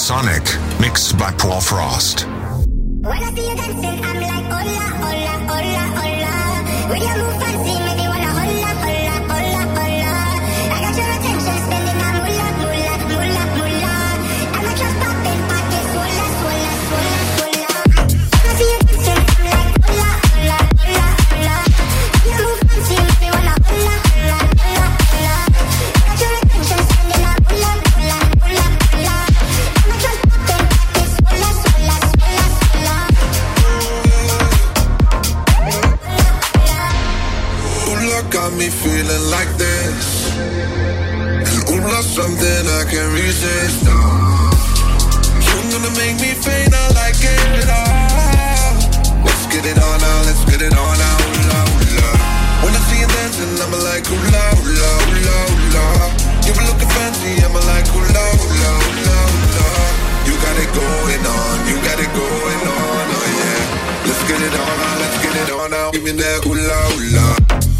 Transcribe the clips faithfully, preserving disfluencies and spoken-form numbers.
Sonic, mixed by Paul Frost. When I see you dancing, I'm like, hola, hola, hola, hola. When you move fancy, make me wanna hola, hola, hola, hola. I got your attention, spending that moolah, moolah, moolah, moolah. And my trust popping, pockets, swola, swola, swola, swola. When I see you dancing, I'm like, hola, hola, hola, hola. When you move fancy, make me wanna hola, hola, hola, hola. I got your attention, spending that moolah, moolah, moolah, moolah. And my trust popping, pockets, swola, swola, swola, swola. Ooh, got me feeling like this. And ooh, love something I can't resist. Oh. You're gonna make me faint, I like it all. Let's get it on now, let's get it on now, ooh, la, ooh, la. When I see you dancing, I'm like, ooh, la, ooh, la, ooh, la, ooh, la. You were looking fancy, I'm like, ooh, la, ooh, la, ooh, la, ooh, la. You got it going on, you got it going on, oh yeah. Let's get it on now, let's get it on now. Give me that ooh, la, ooh, la.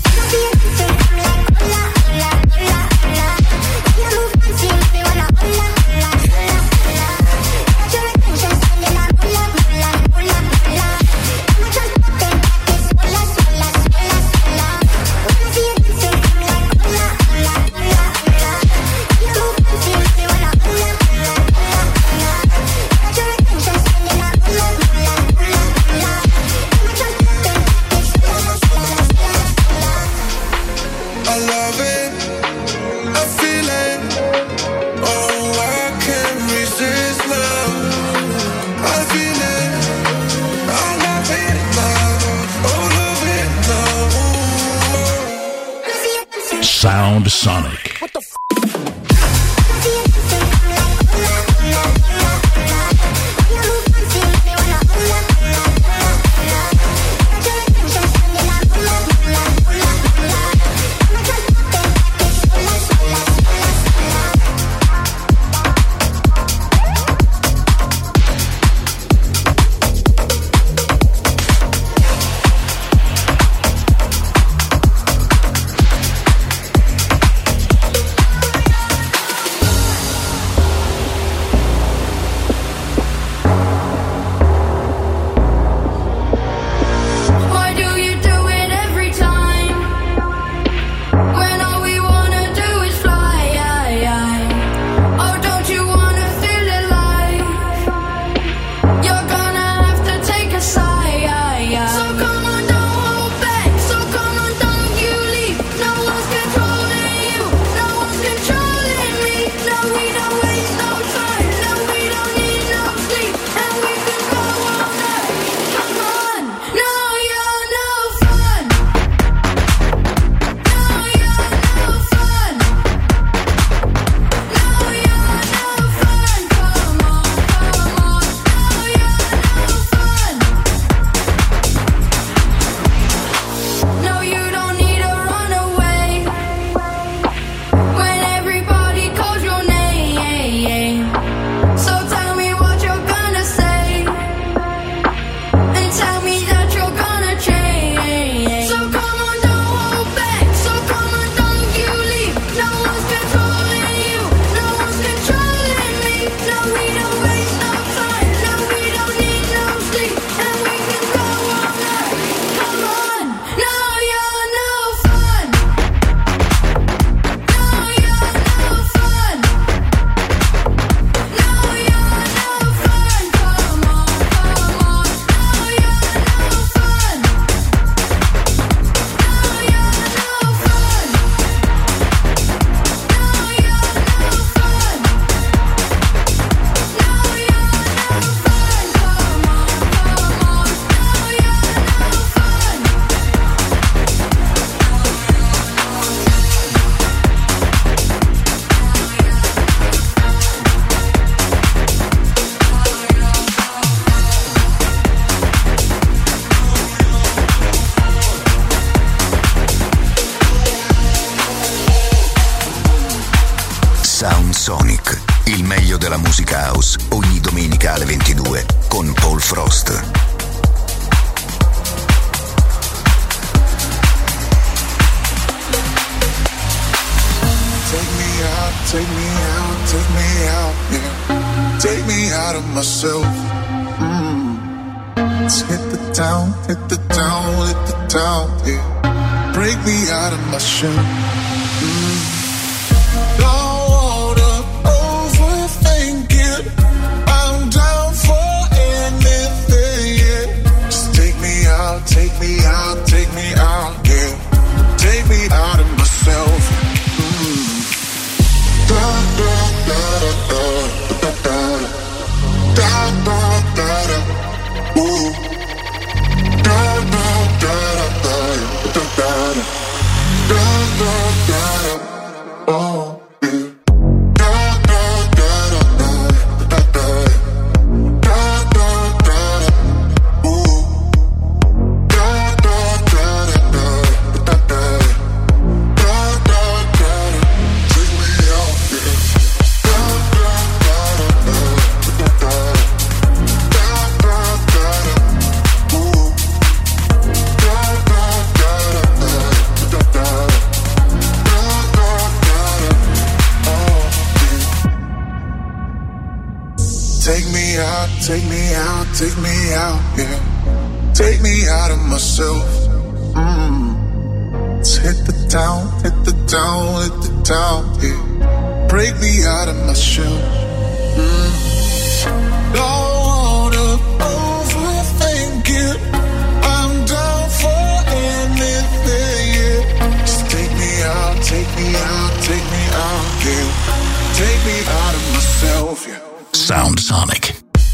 Sound Sonic. What the f- Sonic, il meglio della musica house, ogni domenica alle ventidue con Paul Frost. Take me out, take me out, take me out, yeah. take me out of myself. Mm. Let's hit the town, hit the town, hit the town, yeah. Break me out of my shell. Mm. Don't wanna overthink it. I'm down for anything, yeah. Just take me out, take me out, take me out, yeah. Take me out of myself. Mm. Da da da da da da da da da da. Ooh. Da da da da da da da da da da da. Oh. Take me out, take me out, yeah. Take me out of myself. Mm. Let's hit the town, hit the town, hit the town, yeah. Break me out of my shell. Mm. Don't wanna overthink it. I'm down for anything, yeah. Just take me out, take me out, take me out, yeah. Take me out of myself, yeah. Sound Sonic.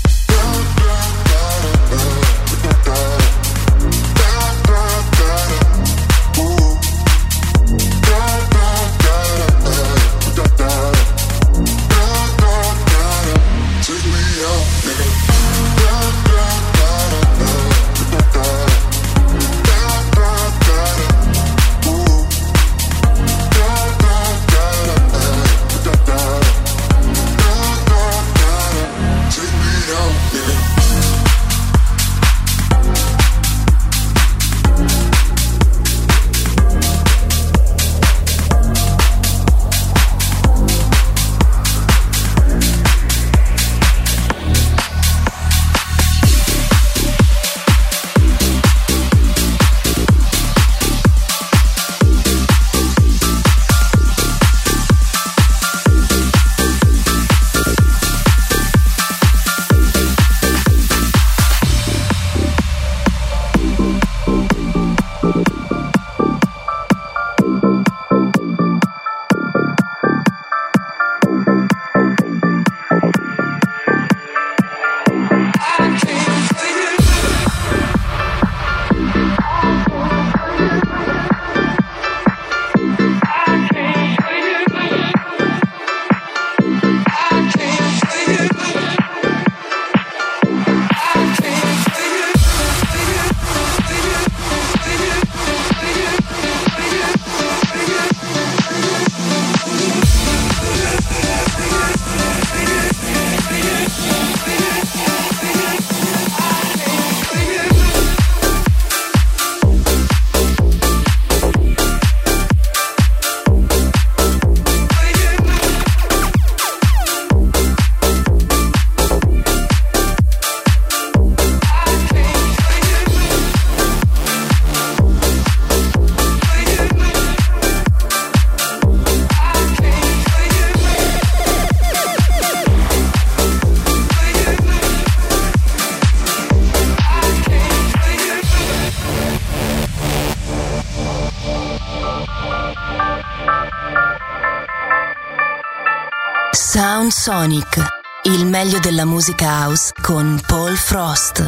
Sound Sonic, il meglio della musica house con Paul Frost.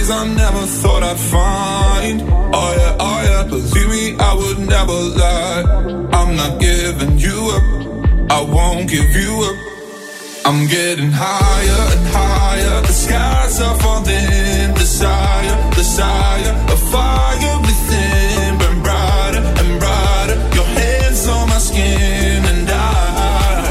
things I never thought I'd find. Oh yeah, oh yeah, believe me, I would never lie. I'm not giving you up, I won't give you up. I'm getting higher and higher, the skies are falling. Desire, desire, a fire within, burn brighter and brighter. Your hands on my skin and I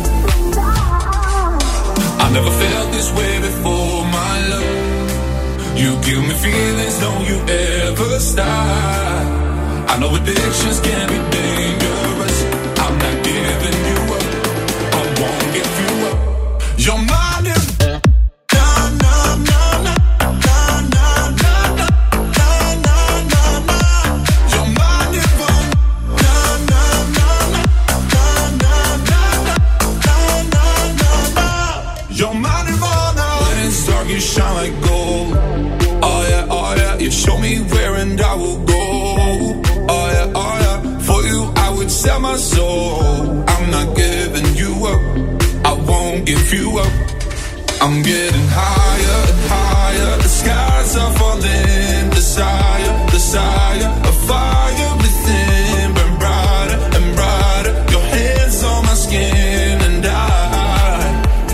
I never felt this way before, my love. You give me feelings, don't you ever stop. I know addictions can be dangerous. I'm not giving you up, I won't give you up. You're mine if na na na na na na na na na na na. You're mine if na na na na na na na na na na. You're mine if when it's dark you shine like gold. Oh yeah, oh yeah, you show me where and I will go. Oh yeah, oh yeah, for you I would sell my soul. I'm not giving you up, I won't give you up. I'm getting higher and higher, the skies are falling. Desire, desire, a fire within, burn brighter and brighter. Your hands on my skin and I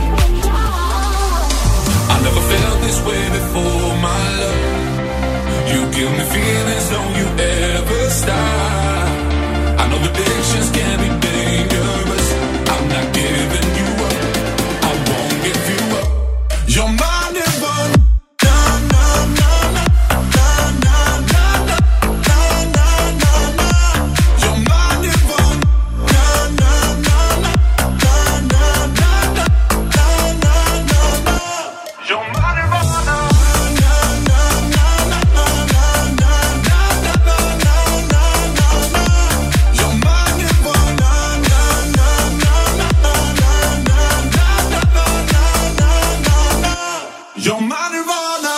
I never felt this way before, my love. You give me feelings, don't you ever stop. I know addictions can be dangerous. I'm not giving you up, I won't give you up. You're mine if I'm na na na na na na na na na na na. You're mine if I'm na na na na na na na na na na na. You're mine if I'm na na na na na na na na na na na na. You're mine if I'm na na na na na na na na na na na. You're my nirvana.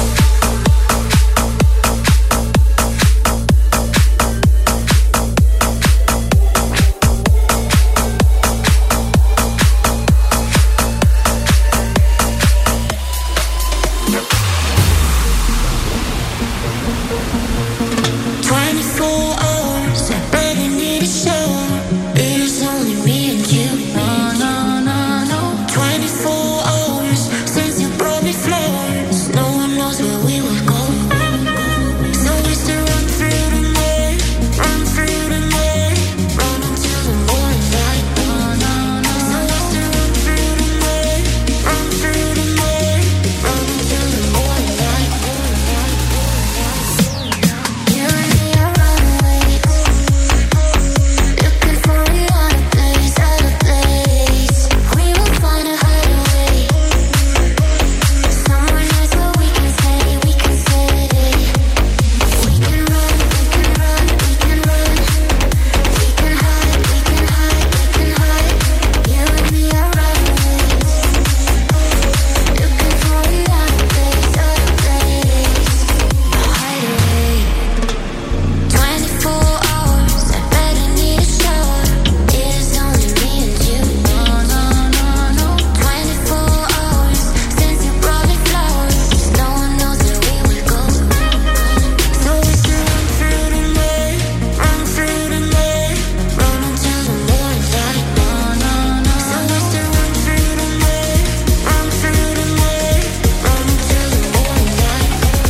twenty-four hours, I barely need a shower. It is only me and you. No, no, no, no. twenty-four hours since you brought me flowers. No one knows where we will go. So we still run through the night, run through the night, run until the morning light. No, no, no. So we still run through the night, run through the night, run until the morning light. You and me are runaways, looking for a other place, other place. We will find a hideaway, somewhere nice where we can stay, we can stay. We can run, we can run, we can run. We can hide, we can hide, we can hide. You and me are runaways, looking for a other place, other place. A hideaway. twenty-four hours, I bet I need a shower. It is only me and you. No, no, no, no. twenty-four hours since you brought me flowers. No one knows where we will go. So we still run through the night, run through the night, run until the morning light. No, no, no. So we still run through the night, run through the night, run until the morning light.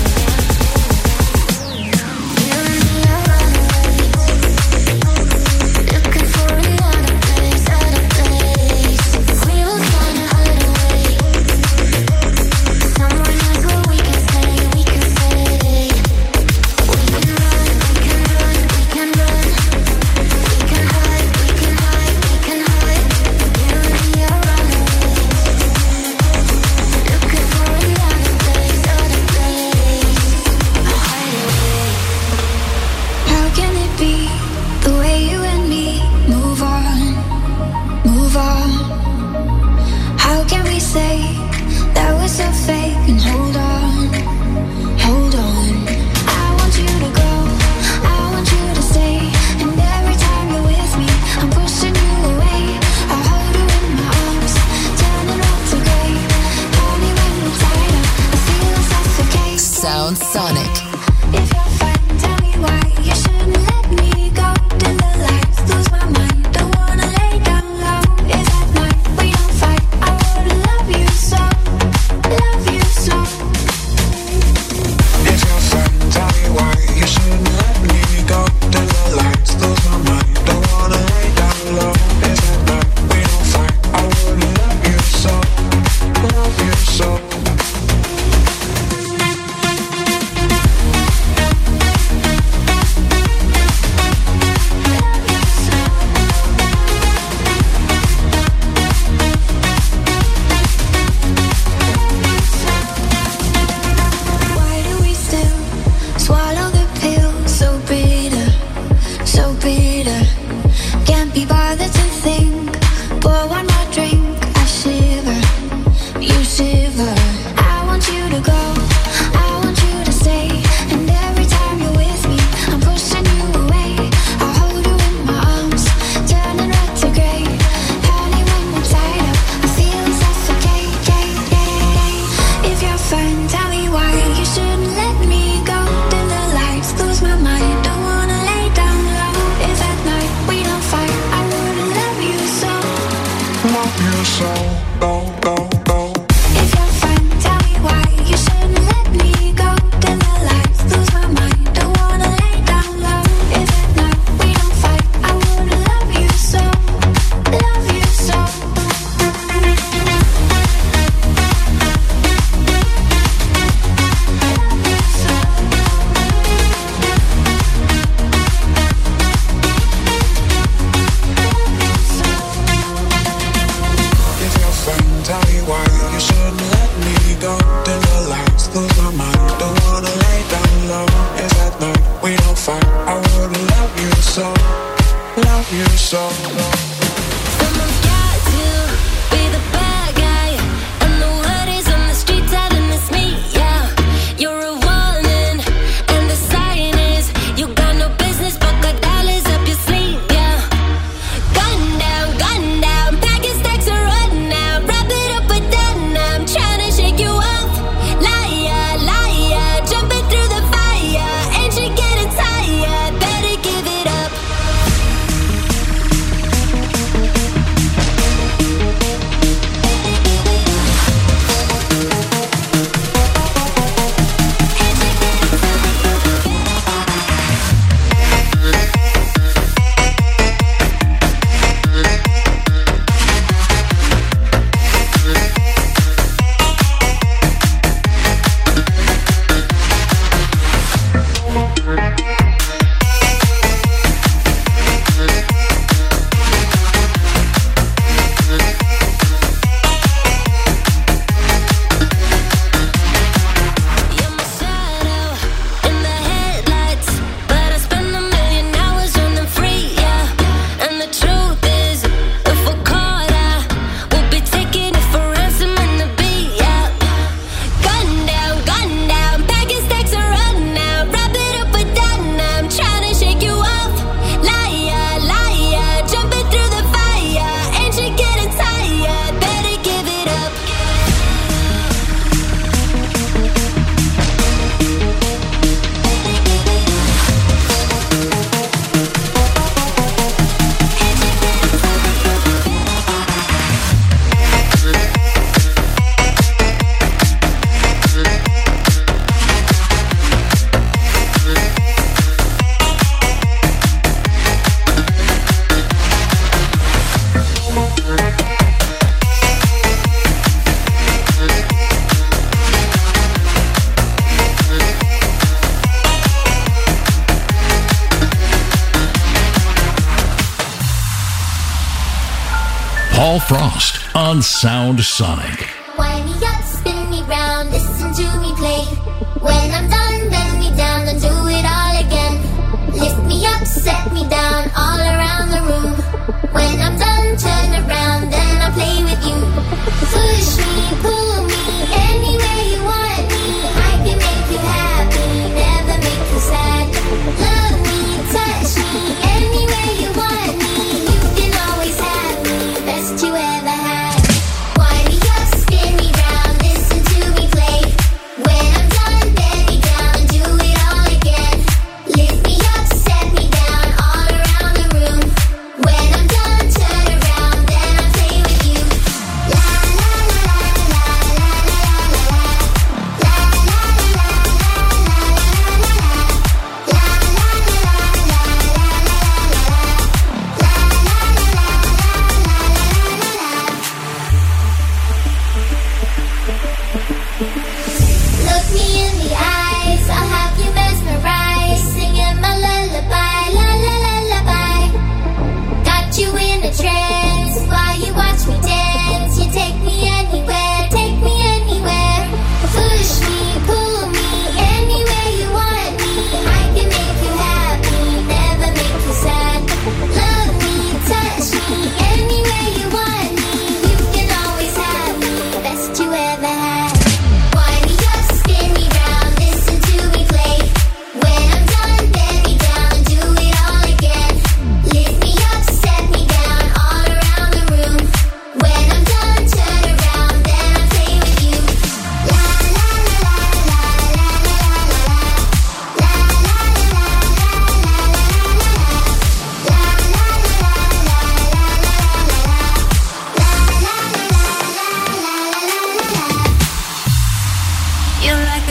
You and me are runaways, looking for a other place, other place. We will find a hideaway, somewhere nice where we can stay, we can stay. We can run, we can run, we can run. We can hide, we can hide, we can hide. You and me are runaways, looking for a other place, other place. A hideaway. How can it be the way you and me move on, move on? How can we say that we're so fake and hold on, hold on? I want you to go, I want you to stay, and every time you're with me, I'm pushing you away. I hold you in my arms, turning red to gray. Call me when we're tired, I feel us suffocate. Sound Sonic. If you're fine, tell me why you shouldn't let me go. Till the lights lose my mind. Don't wanna lay down low. If at night we don't fight, I would love you so, love you so. If you're fine, tell me why you shouldn't let me go. Till the lights lose my mind. Don't wanna lay down low. If at night we don't fight, I would love you so, love you so. Paul Frost on Sound Sonic. Wind me up, spin me round, listen to me play. When I'm done, bend me down and do it all again. Lift me up, set me down, all around the room. When I'm done, turn around, then I'll play with you. Push me, pull me, anywhere you want me. I can make you happy, never make you sad. Love me, touch me, anywhere you want me. You can always have me, best you ever had. Wind me up, spin me round, listen to me play. When I'm done, bend me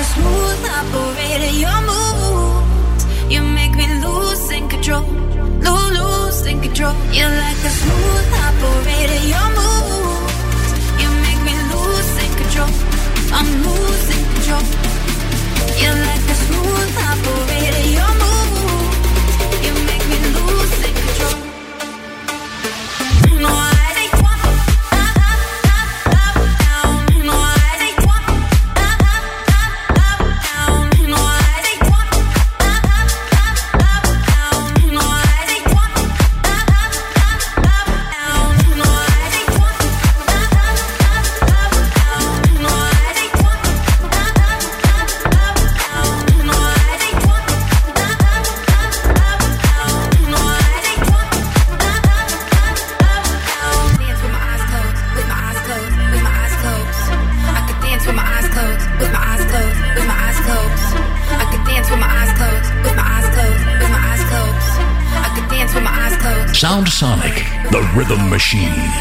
a smooth operator. Your moves, you make me lose in control, lose, lose in control. You're like a smooth operator. Your moves, you make me lose in control. I'm losing control. You're like a smooth operator. Your moves, you make me lose in control. No, I Sound Sonic, the rhythm machine.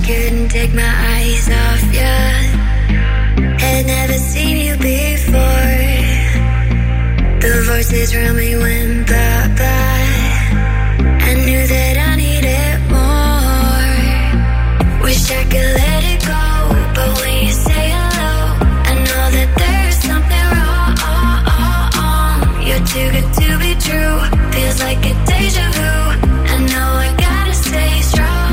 couldn't take my eyes off you. Had never seen you before. The voices around me went bye-bye. I knew that I needed more. Wish I could let it go, but when you say hello, I know that there's something wrong. You're too good to be true. Feels like a deja vu. I know I gotta stay strong.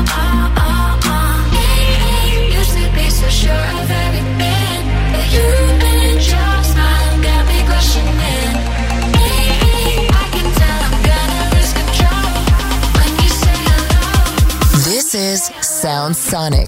Used to be so sure of everything, but you and your smile got me questioning. I can tell I'm gonna lose control when you say hello. This is Sound Sonic.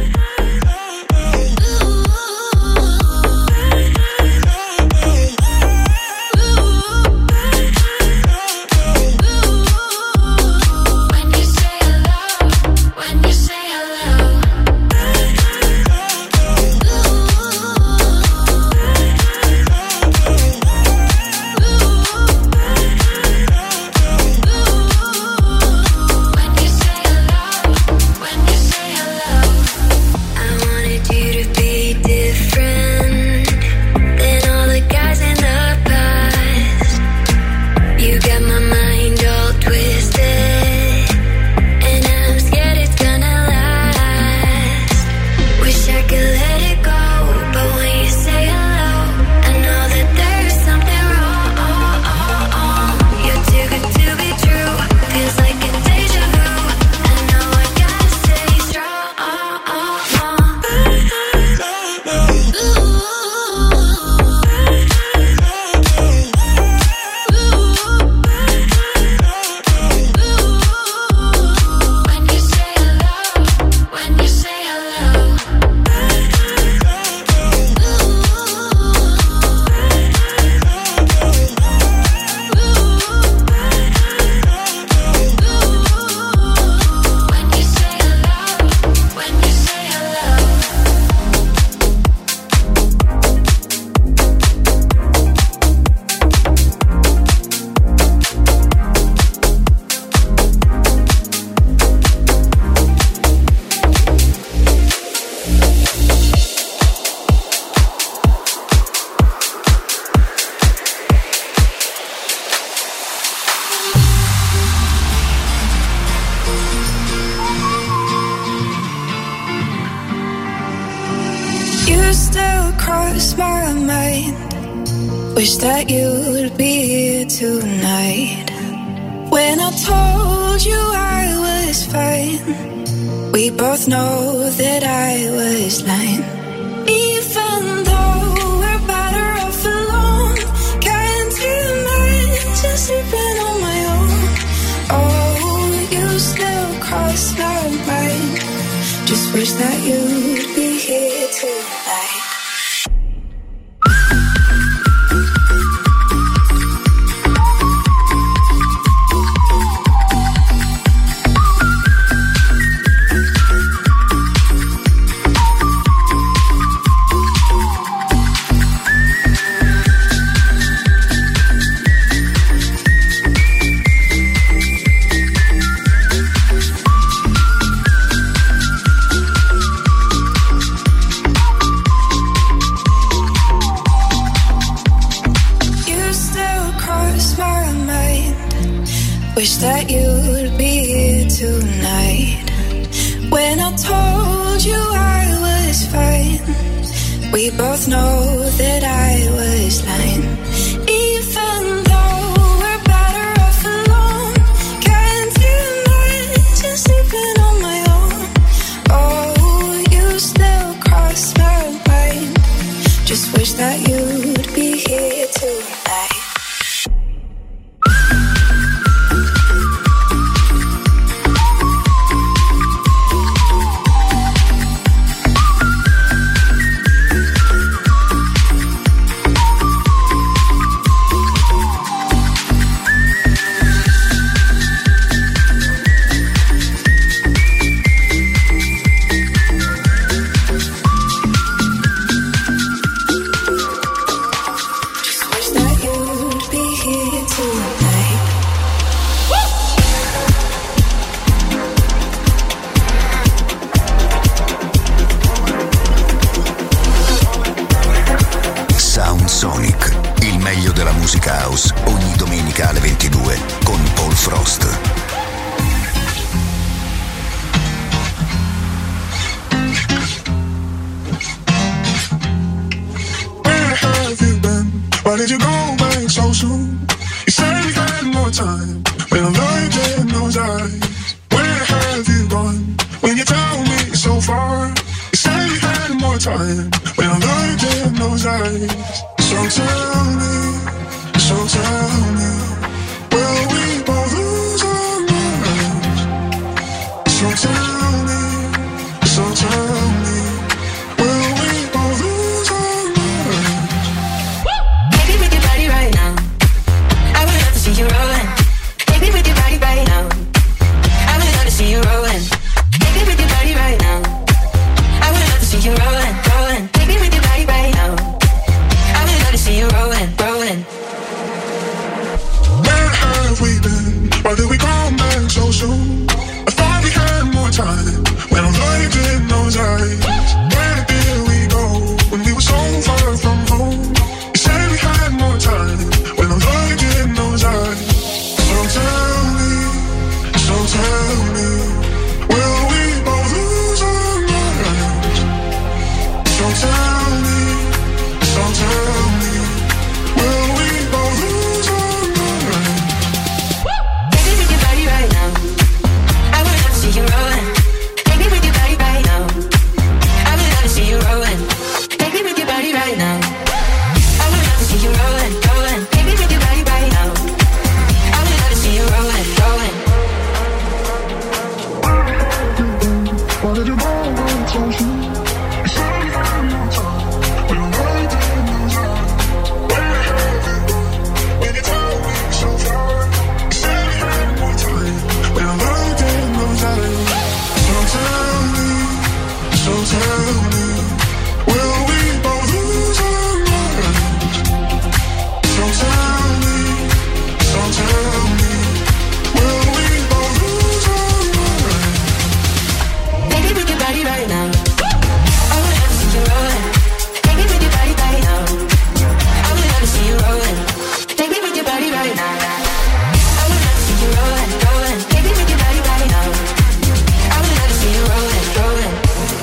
Wish that you'd be here tonight. When I told you I was fine, we both know that I was lying. Even though we're better off alone, can't imagine sleeping on my own. Oh, you still cross my mind. Just wish that you'd be here tonight. Wish that you'd be here tonight. When I told you I was fine, we both know that I was lying. Even though we're better off alone, can't imagine sleeping on my own. Oh, you still cross my mind. Just wish that you'd be here tonight. Why did you go back so soon? You said we had more time. When I looked in those eyes, where have you gone? When you tell me so far, you said we had more time. When I looked in those eyes, so tell me, so tell me, will we both lose our minds? So tell me, so tell me, will we both lose our minds? Take me with your body right now. I would love to see you rolling. Take me with your body right now. I would love to see you rolling. Take me with your body right now. I would love to see you rolling, rolling. Take me with your body right now. I would love to see you rolling, rolling. Where have we been? Why did we come back so soon? I thought we had more time. When I looked in those eyes, where did we go? When we were so far from home, you said we had more time. When I looked in those eyes, so tell me, so tell me, will we both lose our minds? So tell me, so tell me, will we both lose our minds? Take me with your body right now. I would love to see you rolling. Take me with your body right now. I would love to see you rolling. Take me with your body right now. I would love to see you rolling, rolling. Take me with your body right now. I would love to see you rolling, rolling. Why did you go back so soon? You said we had more time. When I looked in those eyes, where have you gone? When you told me so far, you said we had more time. When I looked in those eyes, so tell me, so tell me, will we both lose our minds? So tell me, so tell me, will we both lose our minds? Take me with your body right now. I would love to see you rolling. Take me with your body right now. I would love to see you rolling. Take me with your body right now. I would love to see you rolling, rolling. Take me with your body right now. I would love to see you rolling, rolling.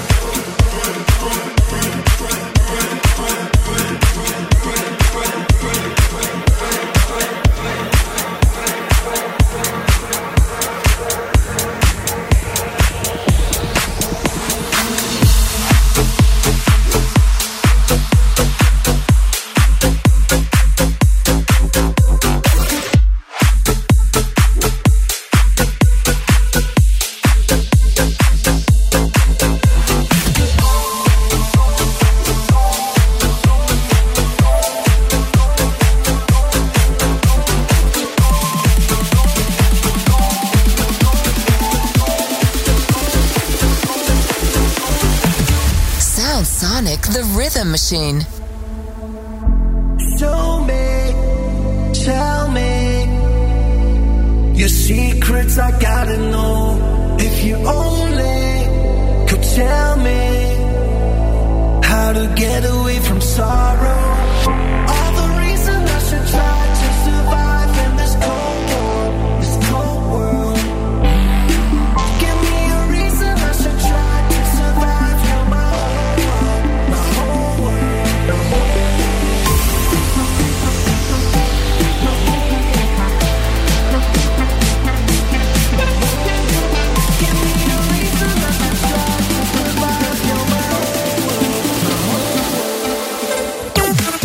Sound Sonic, the rhythm machine. Show me, tell me your secrets. I gotta know. If you only could tell me how to get away from sorrow. All the reasons I should try to survive in this cold world, this cold world. Give me a reason I should try to survive. You're my whole world, my whole world, my whole world. Give me a reason I should try to survive. You're my whole world, my whole world.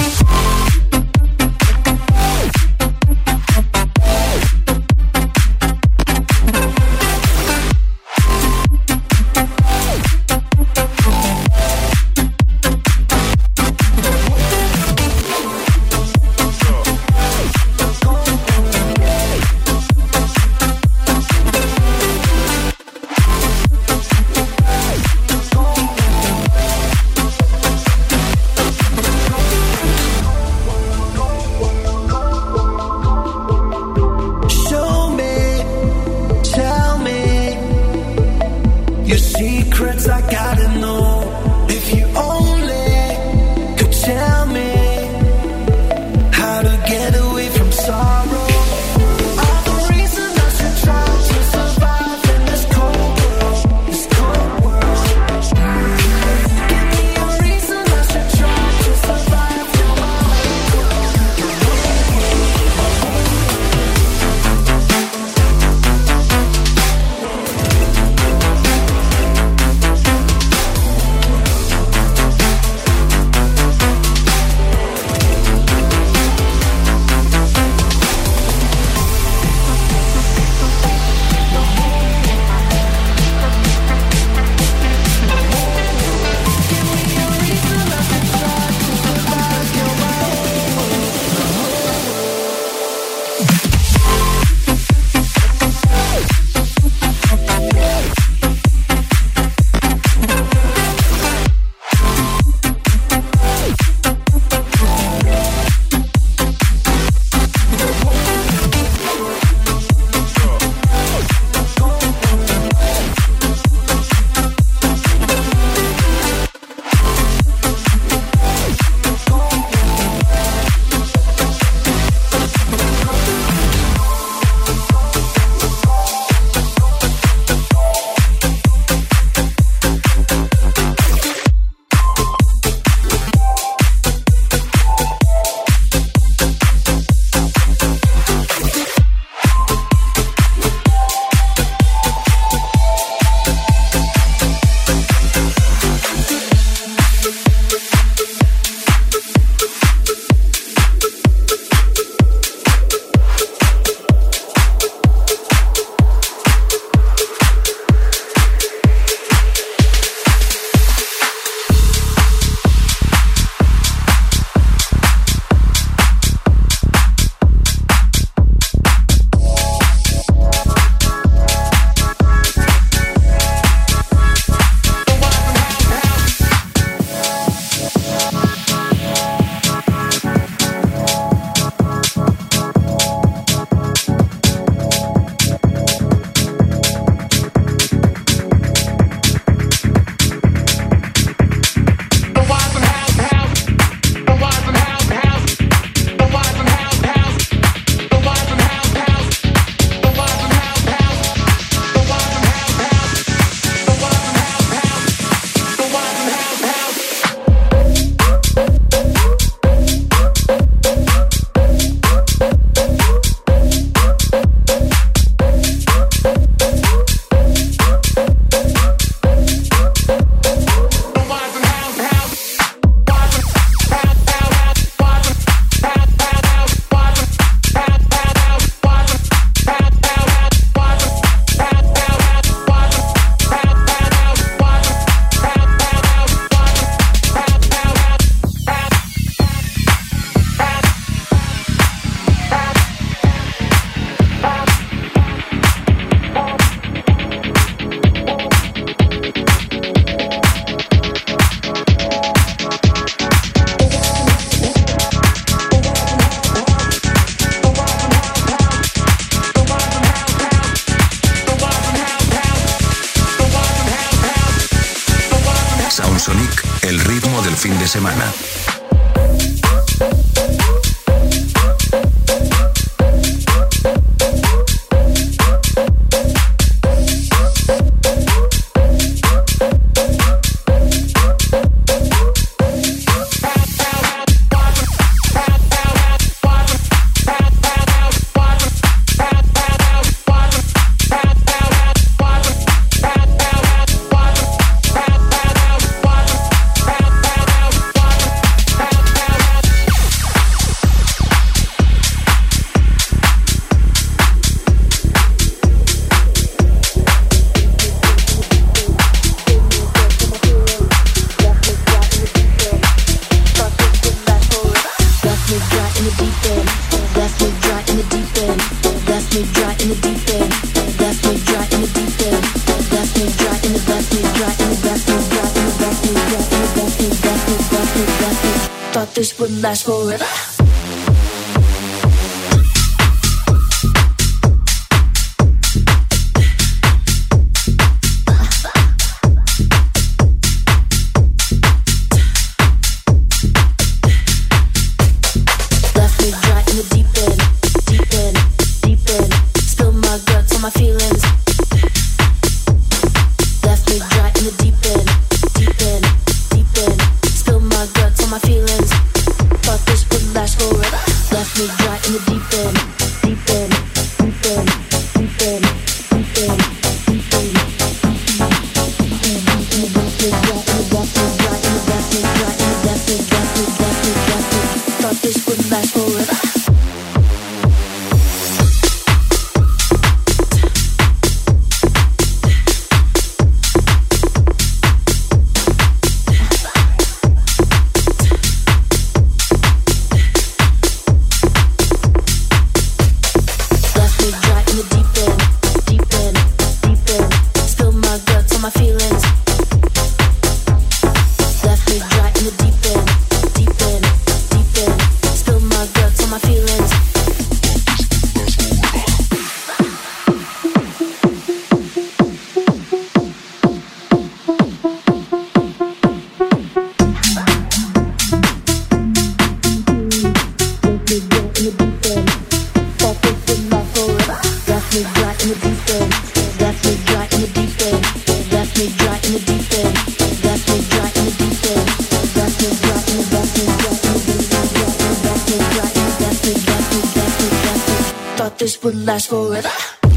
Sonic el ritmo del fin de semana. This would last forever. This would last forever.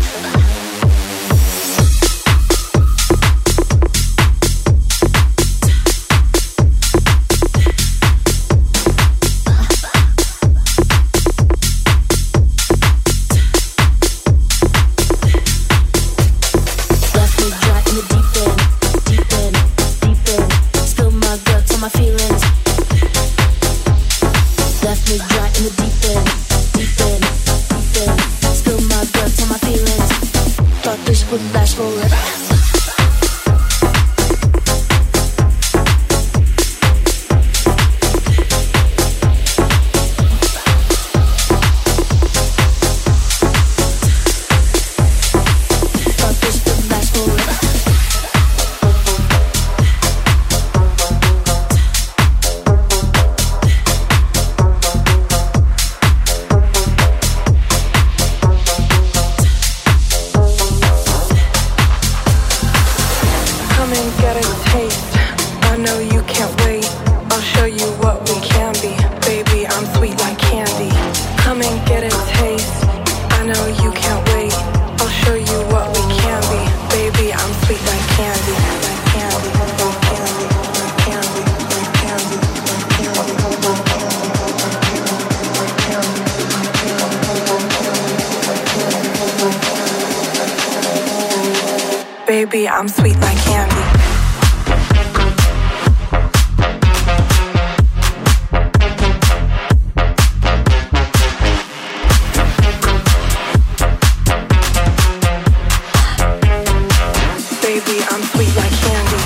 Baby, I'm sweet like candy. Baby, I'm sweet like candy.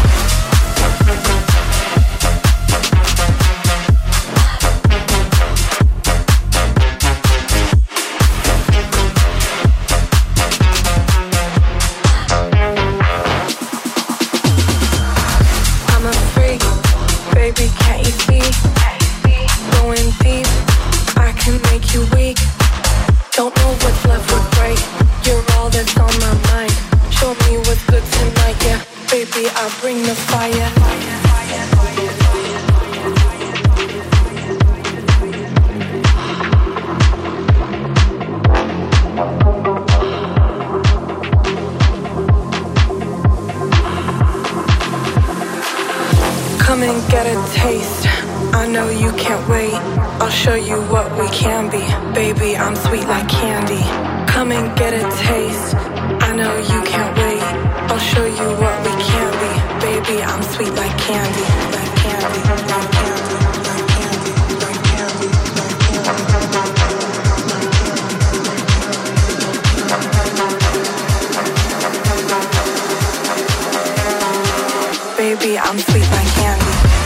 baby, can't you see? Going deep, I can make you weak. Don't know what's left would break. You're all that's on my mind. Show me what's good tonight, yeah. Baby, I'll bring the fire. Come and get a taste. I know you can't wait. I'll show you what we can be. Baby, I'm sweet like candy. Come and get a taste. I know you can't wait. I'll show you what we can be. Baby, I'm sweet like candy. Like candy, like candy, like candy, like candy, like candy. Baby, I'm sweet like candy.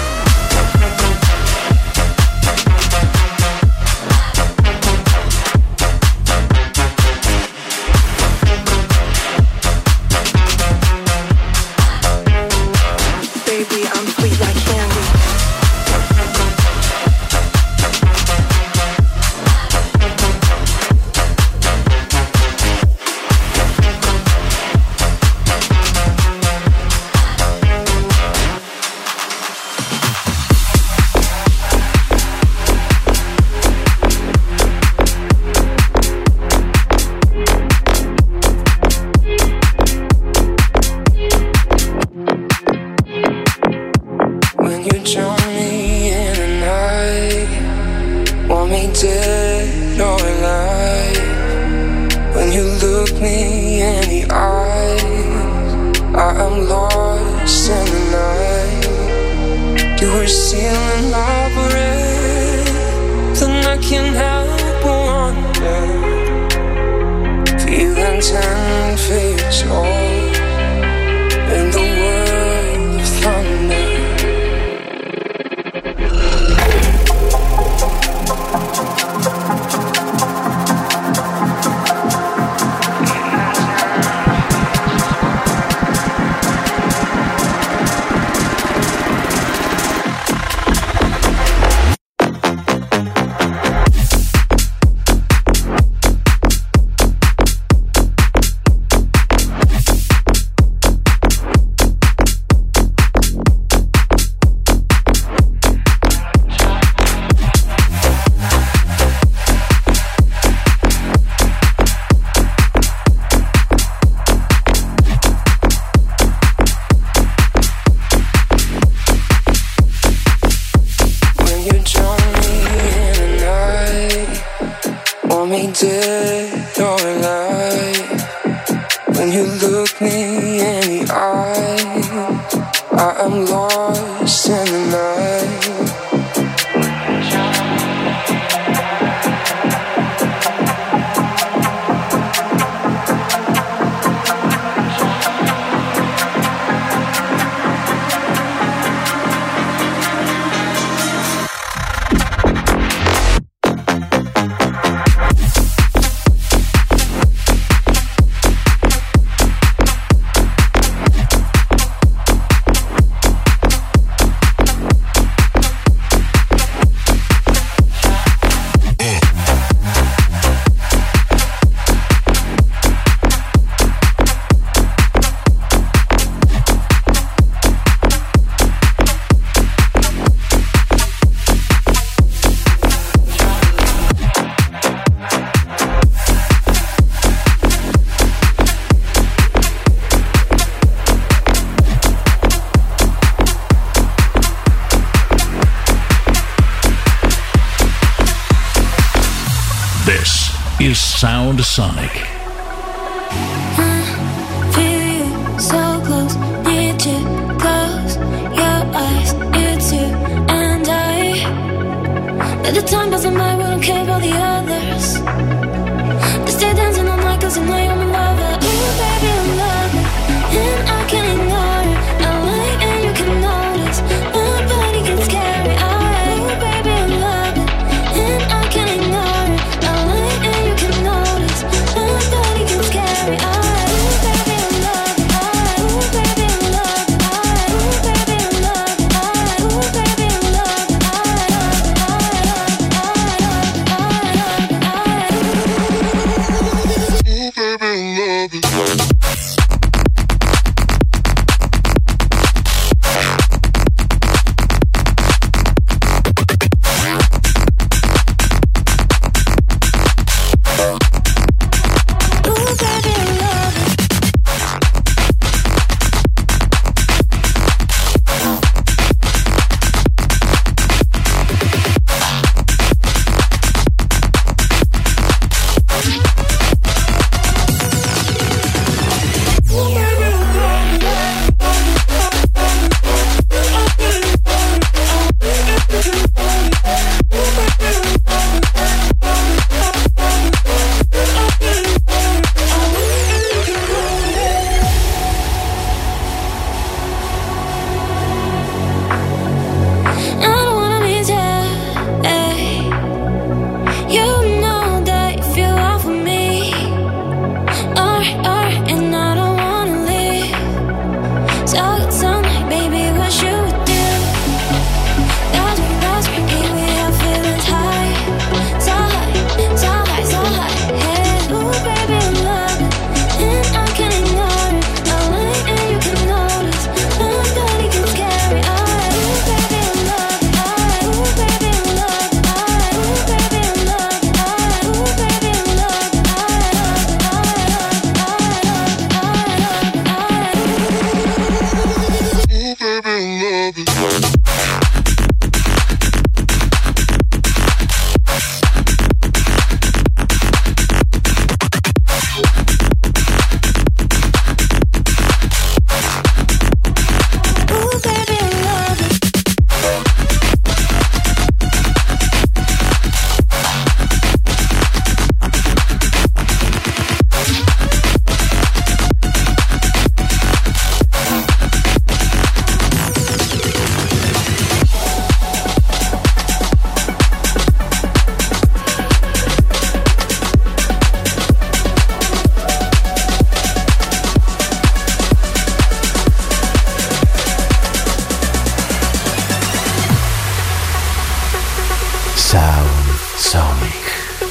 is Sound Sonic. So close, need you close your eyes, it's you and I. At the time doesn't matter, we don't care about the others. Just stay dancing all night cause you know you're my lover. Ooh baby I'm loving, and I can't ignore it. I like and you can notice, my body gets scary. Alright, ooh baby I'm loving, and I can't ignore it. I like and you can notice, my Sonic.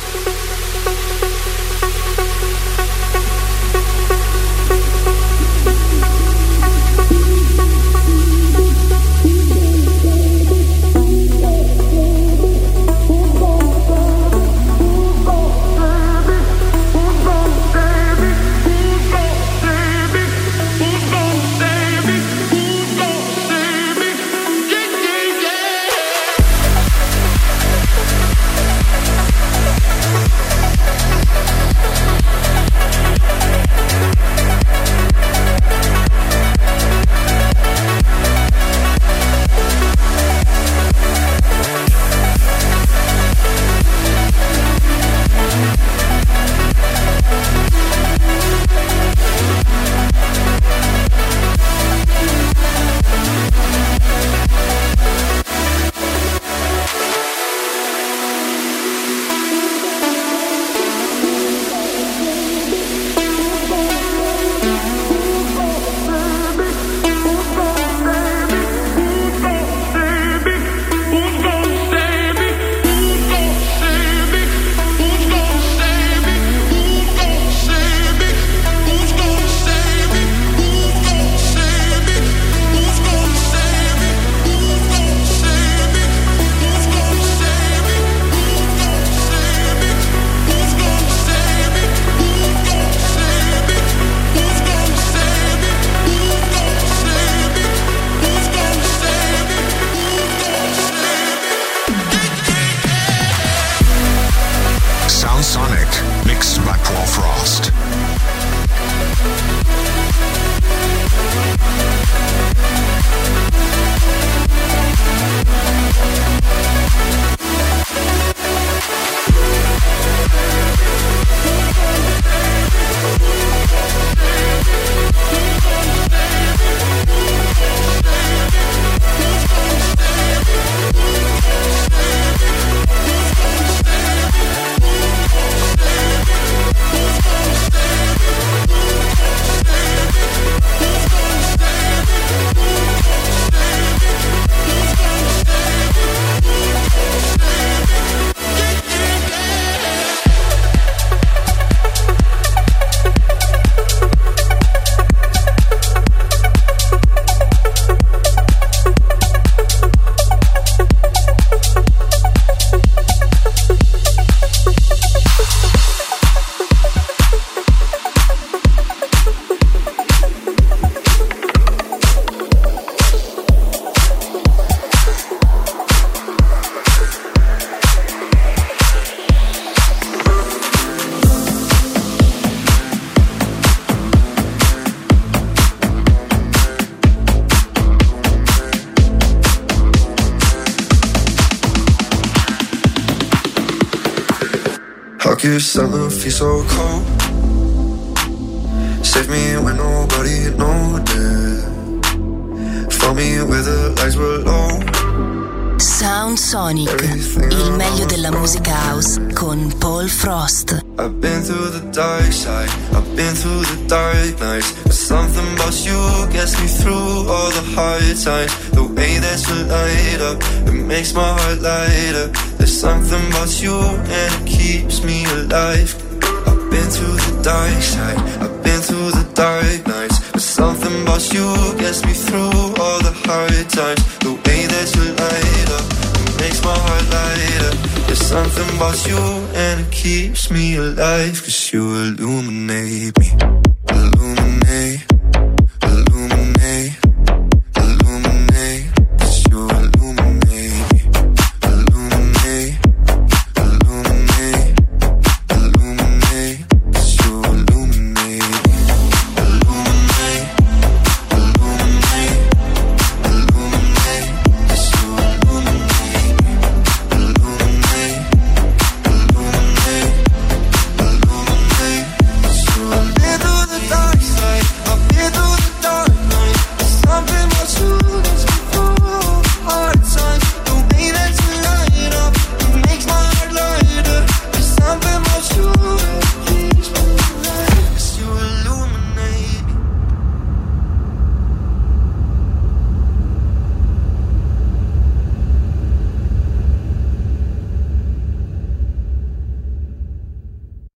You summer feel so cold. Save me when nobody noticed. Found me where the lights were low. Sound Sonic, il meglio della musica house con Paul Frost. I've been through the dark side, I've been through the dark nights, but something about you gets me through all the hard times. The way that you light up, it makes my heart light up. There's something about you and it keeps me alive. I've been through the dark side, I've been through the dark nights, but something about you gets me through all the hard times. The way that you light up, it makes my heart light up. There's something about you and it keeps me alive. Cause you illuminate me, illuminate.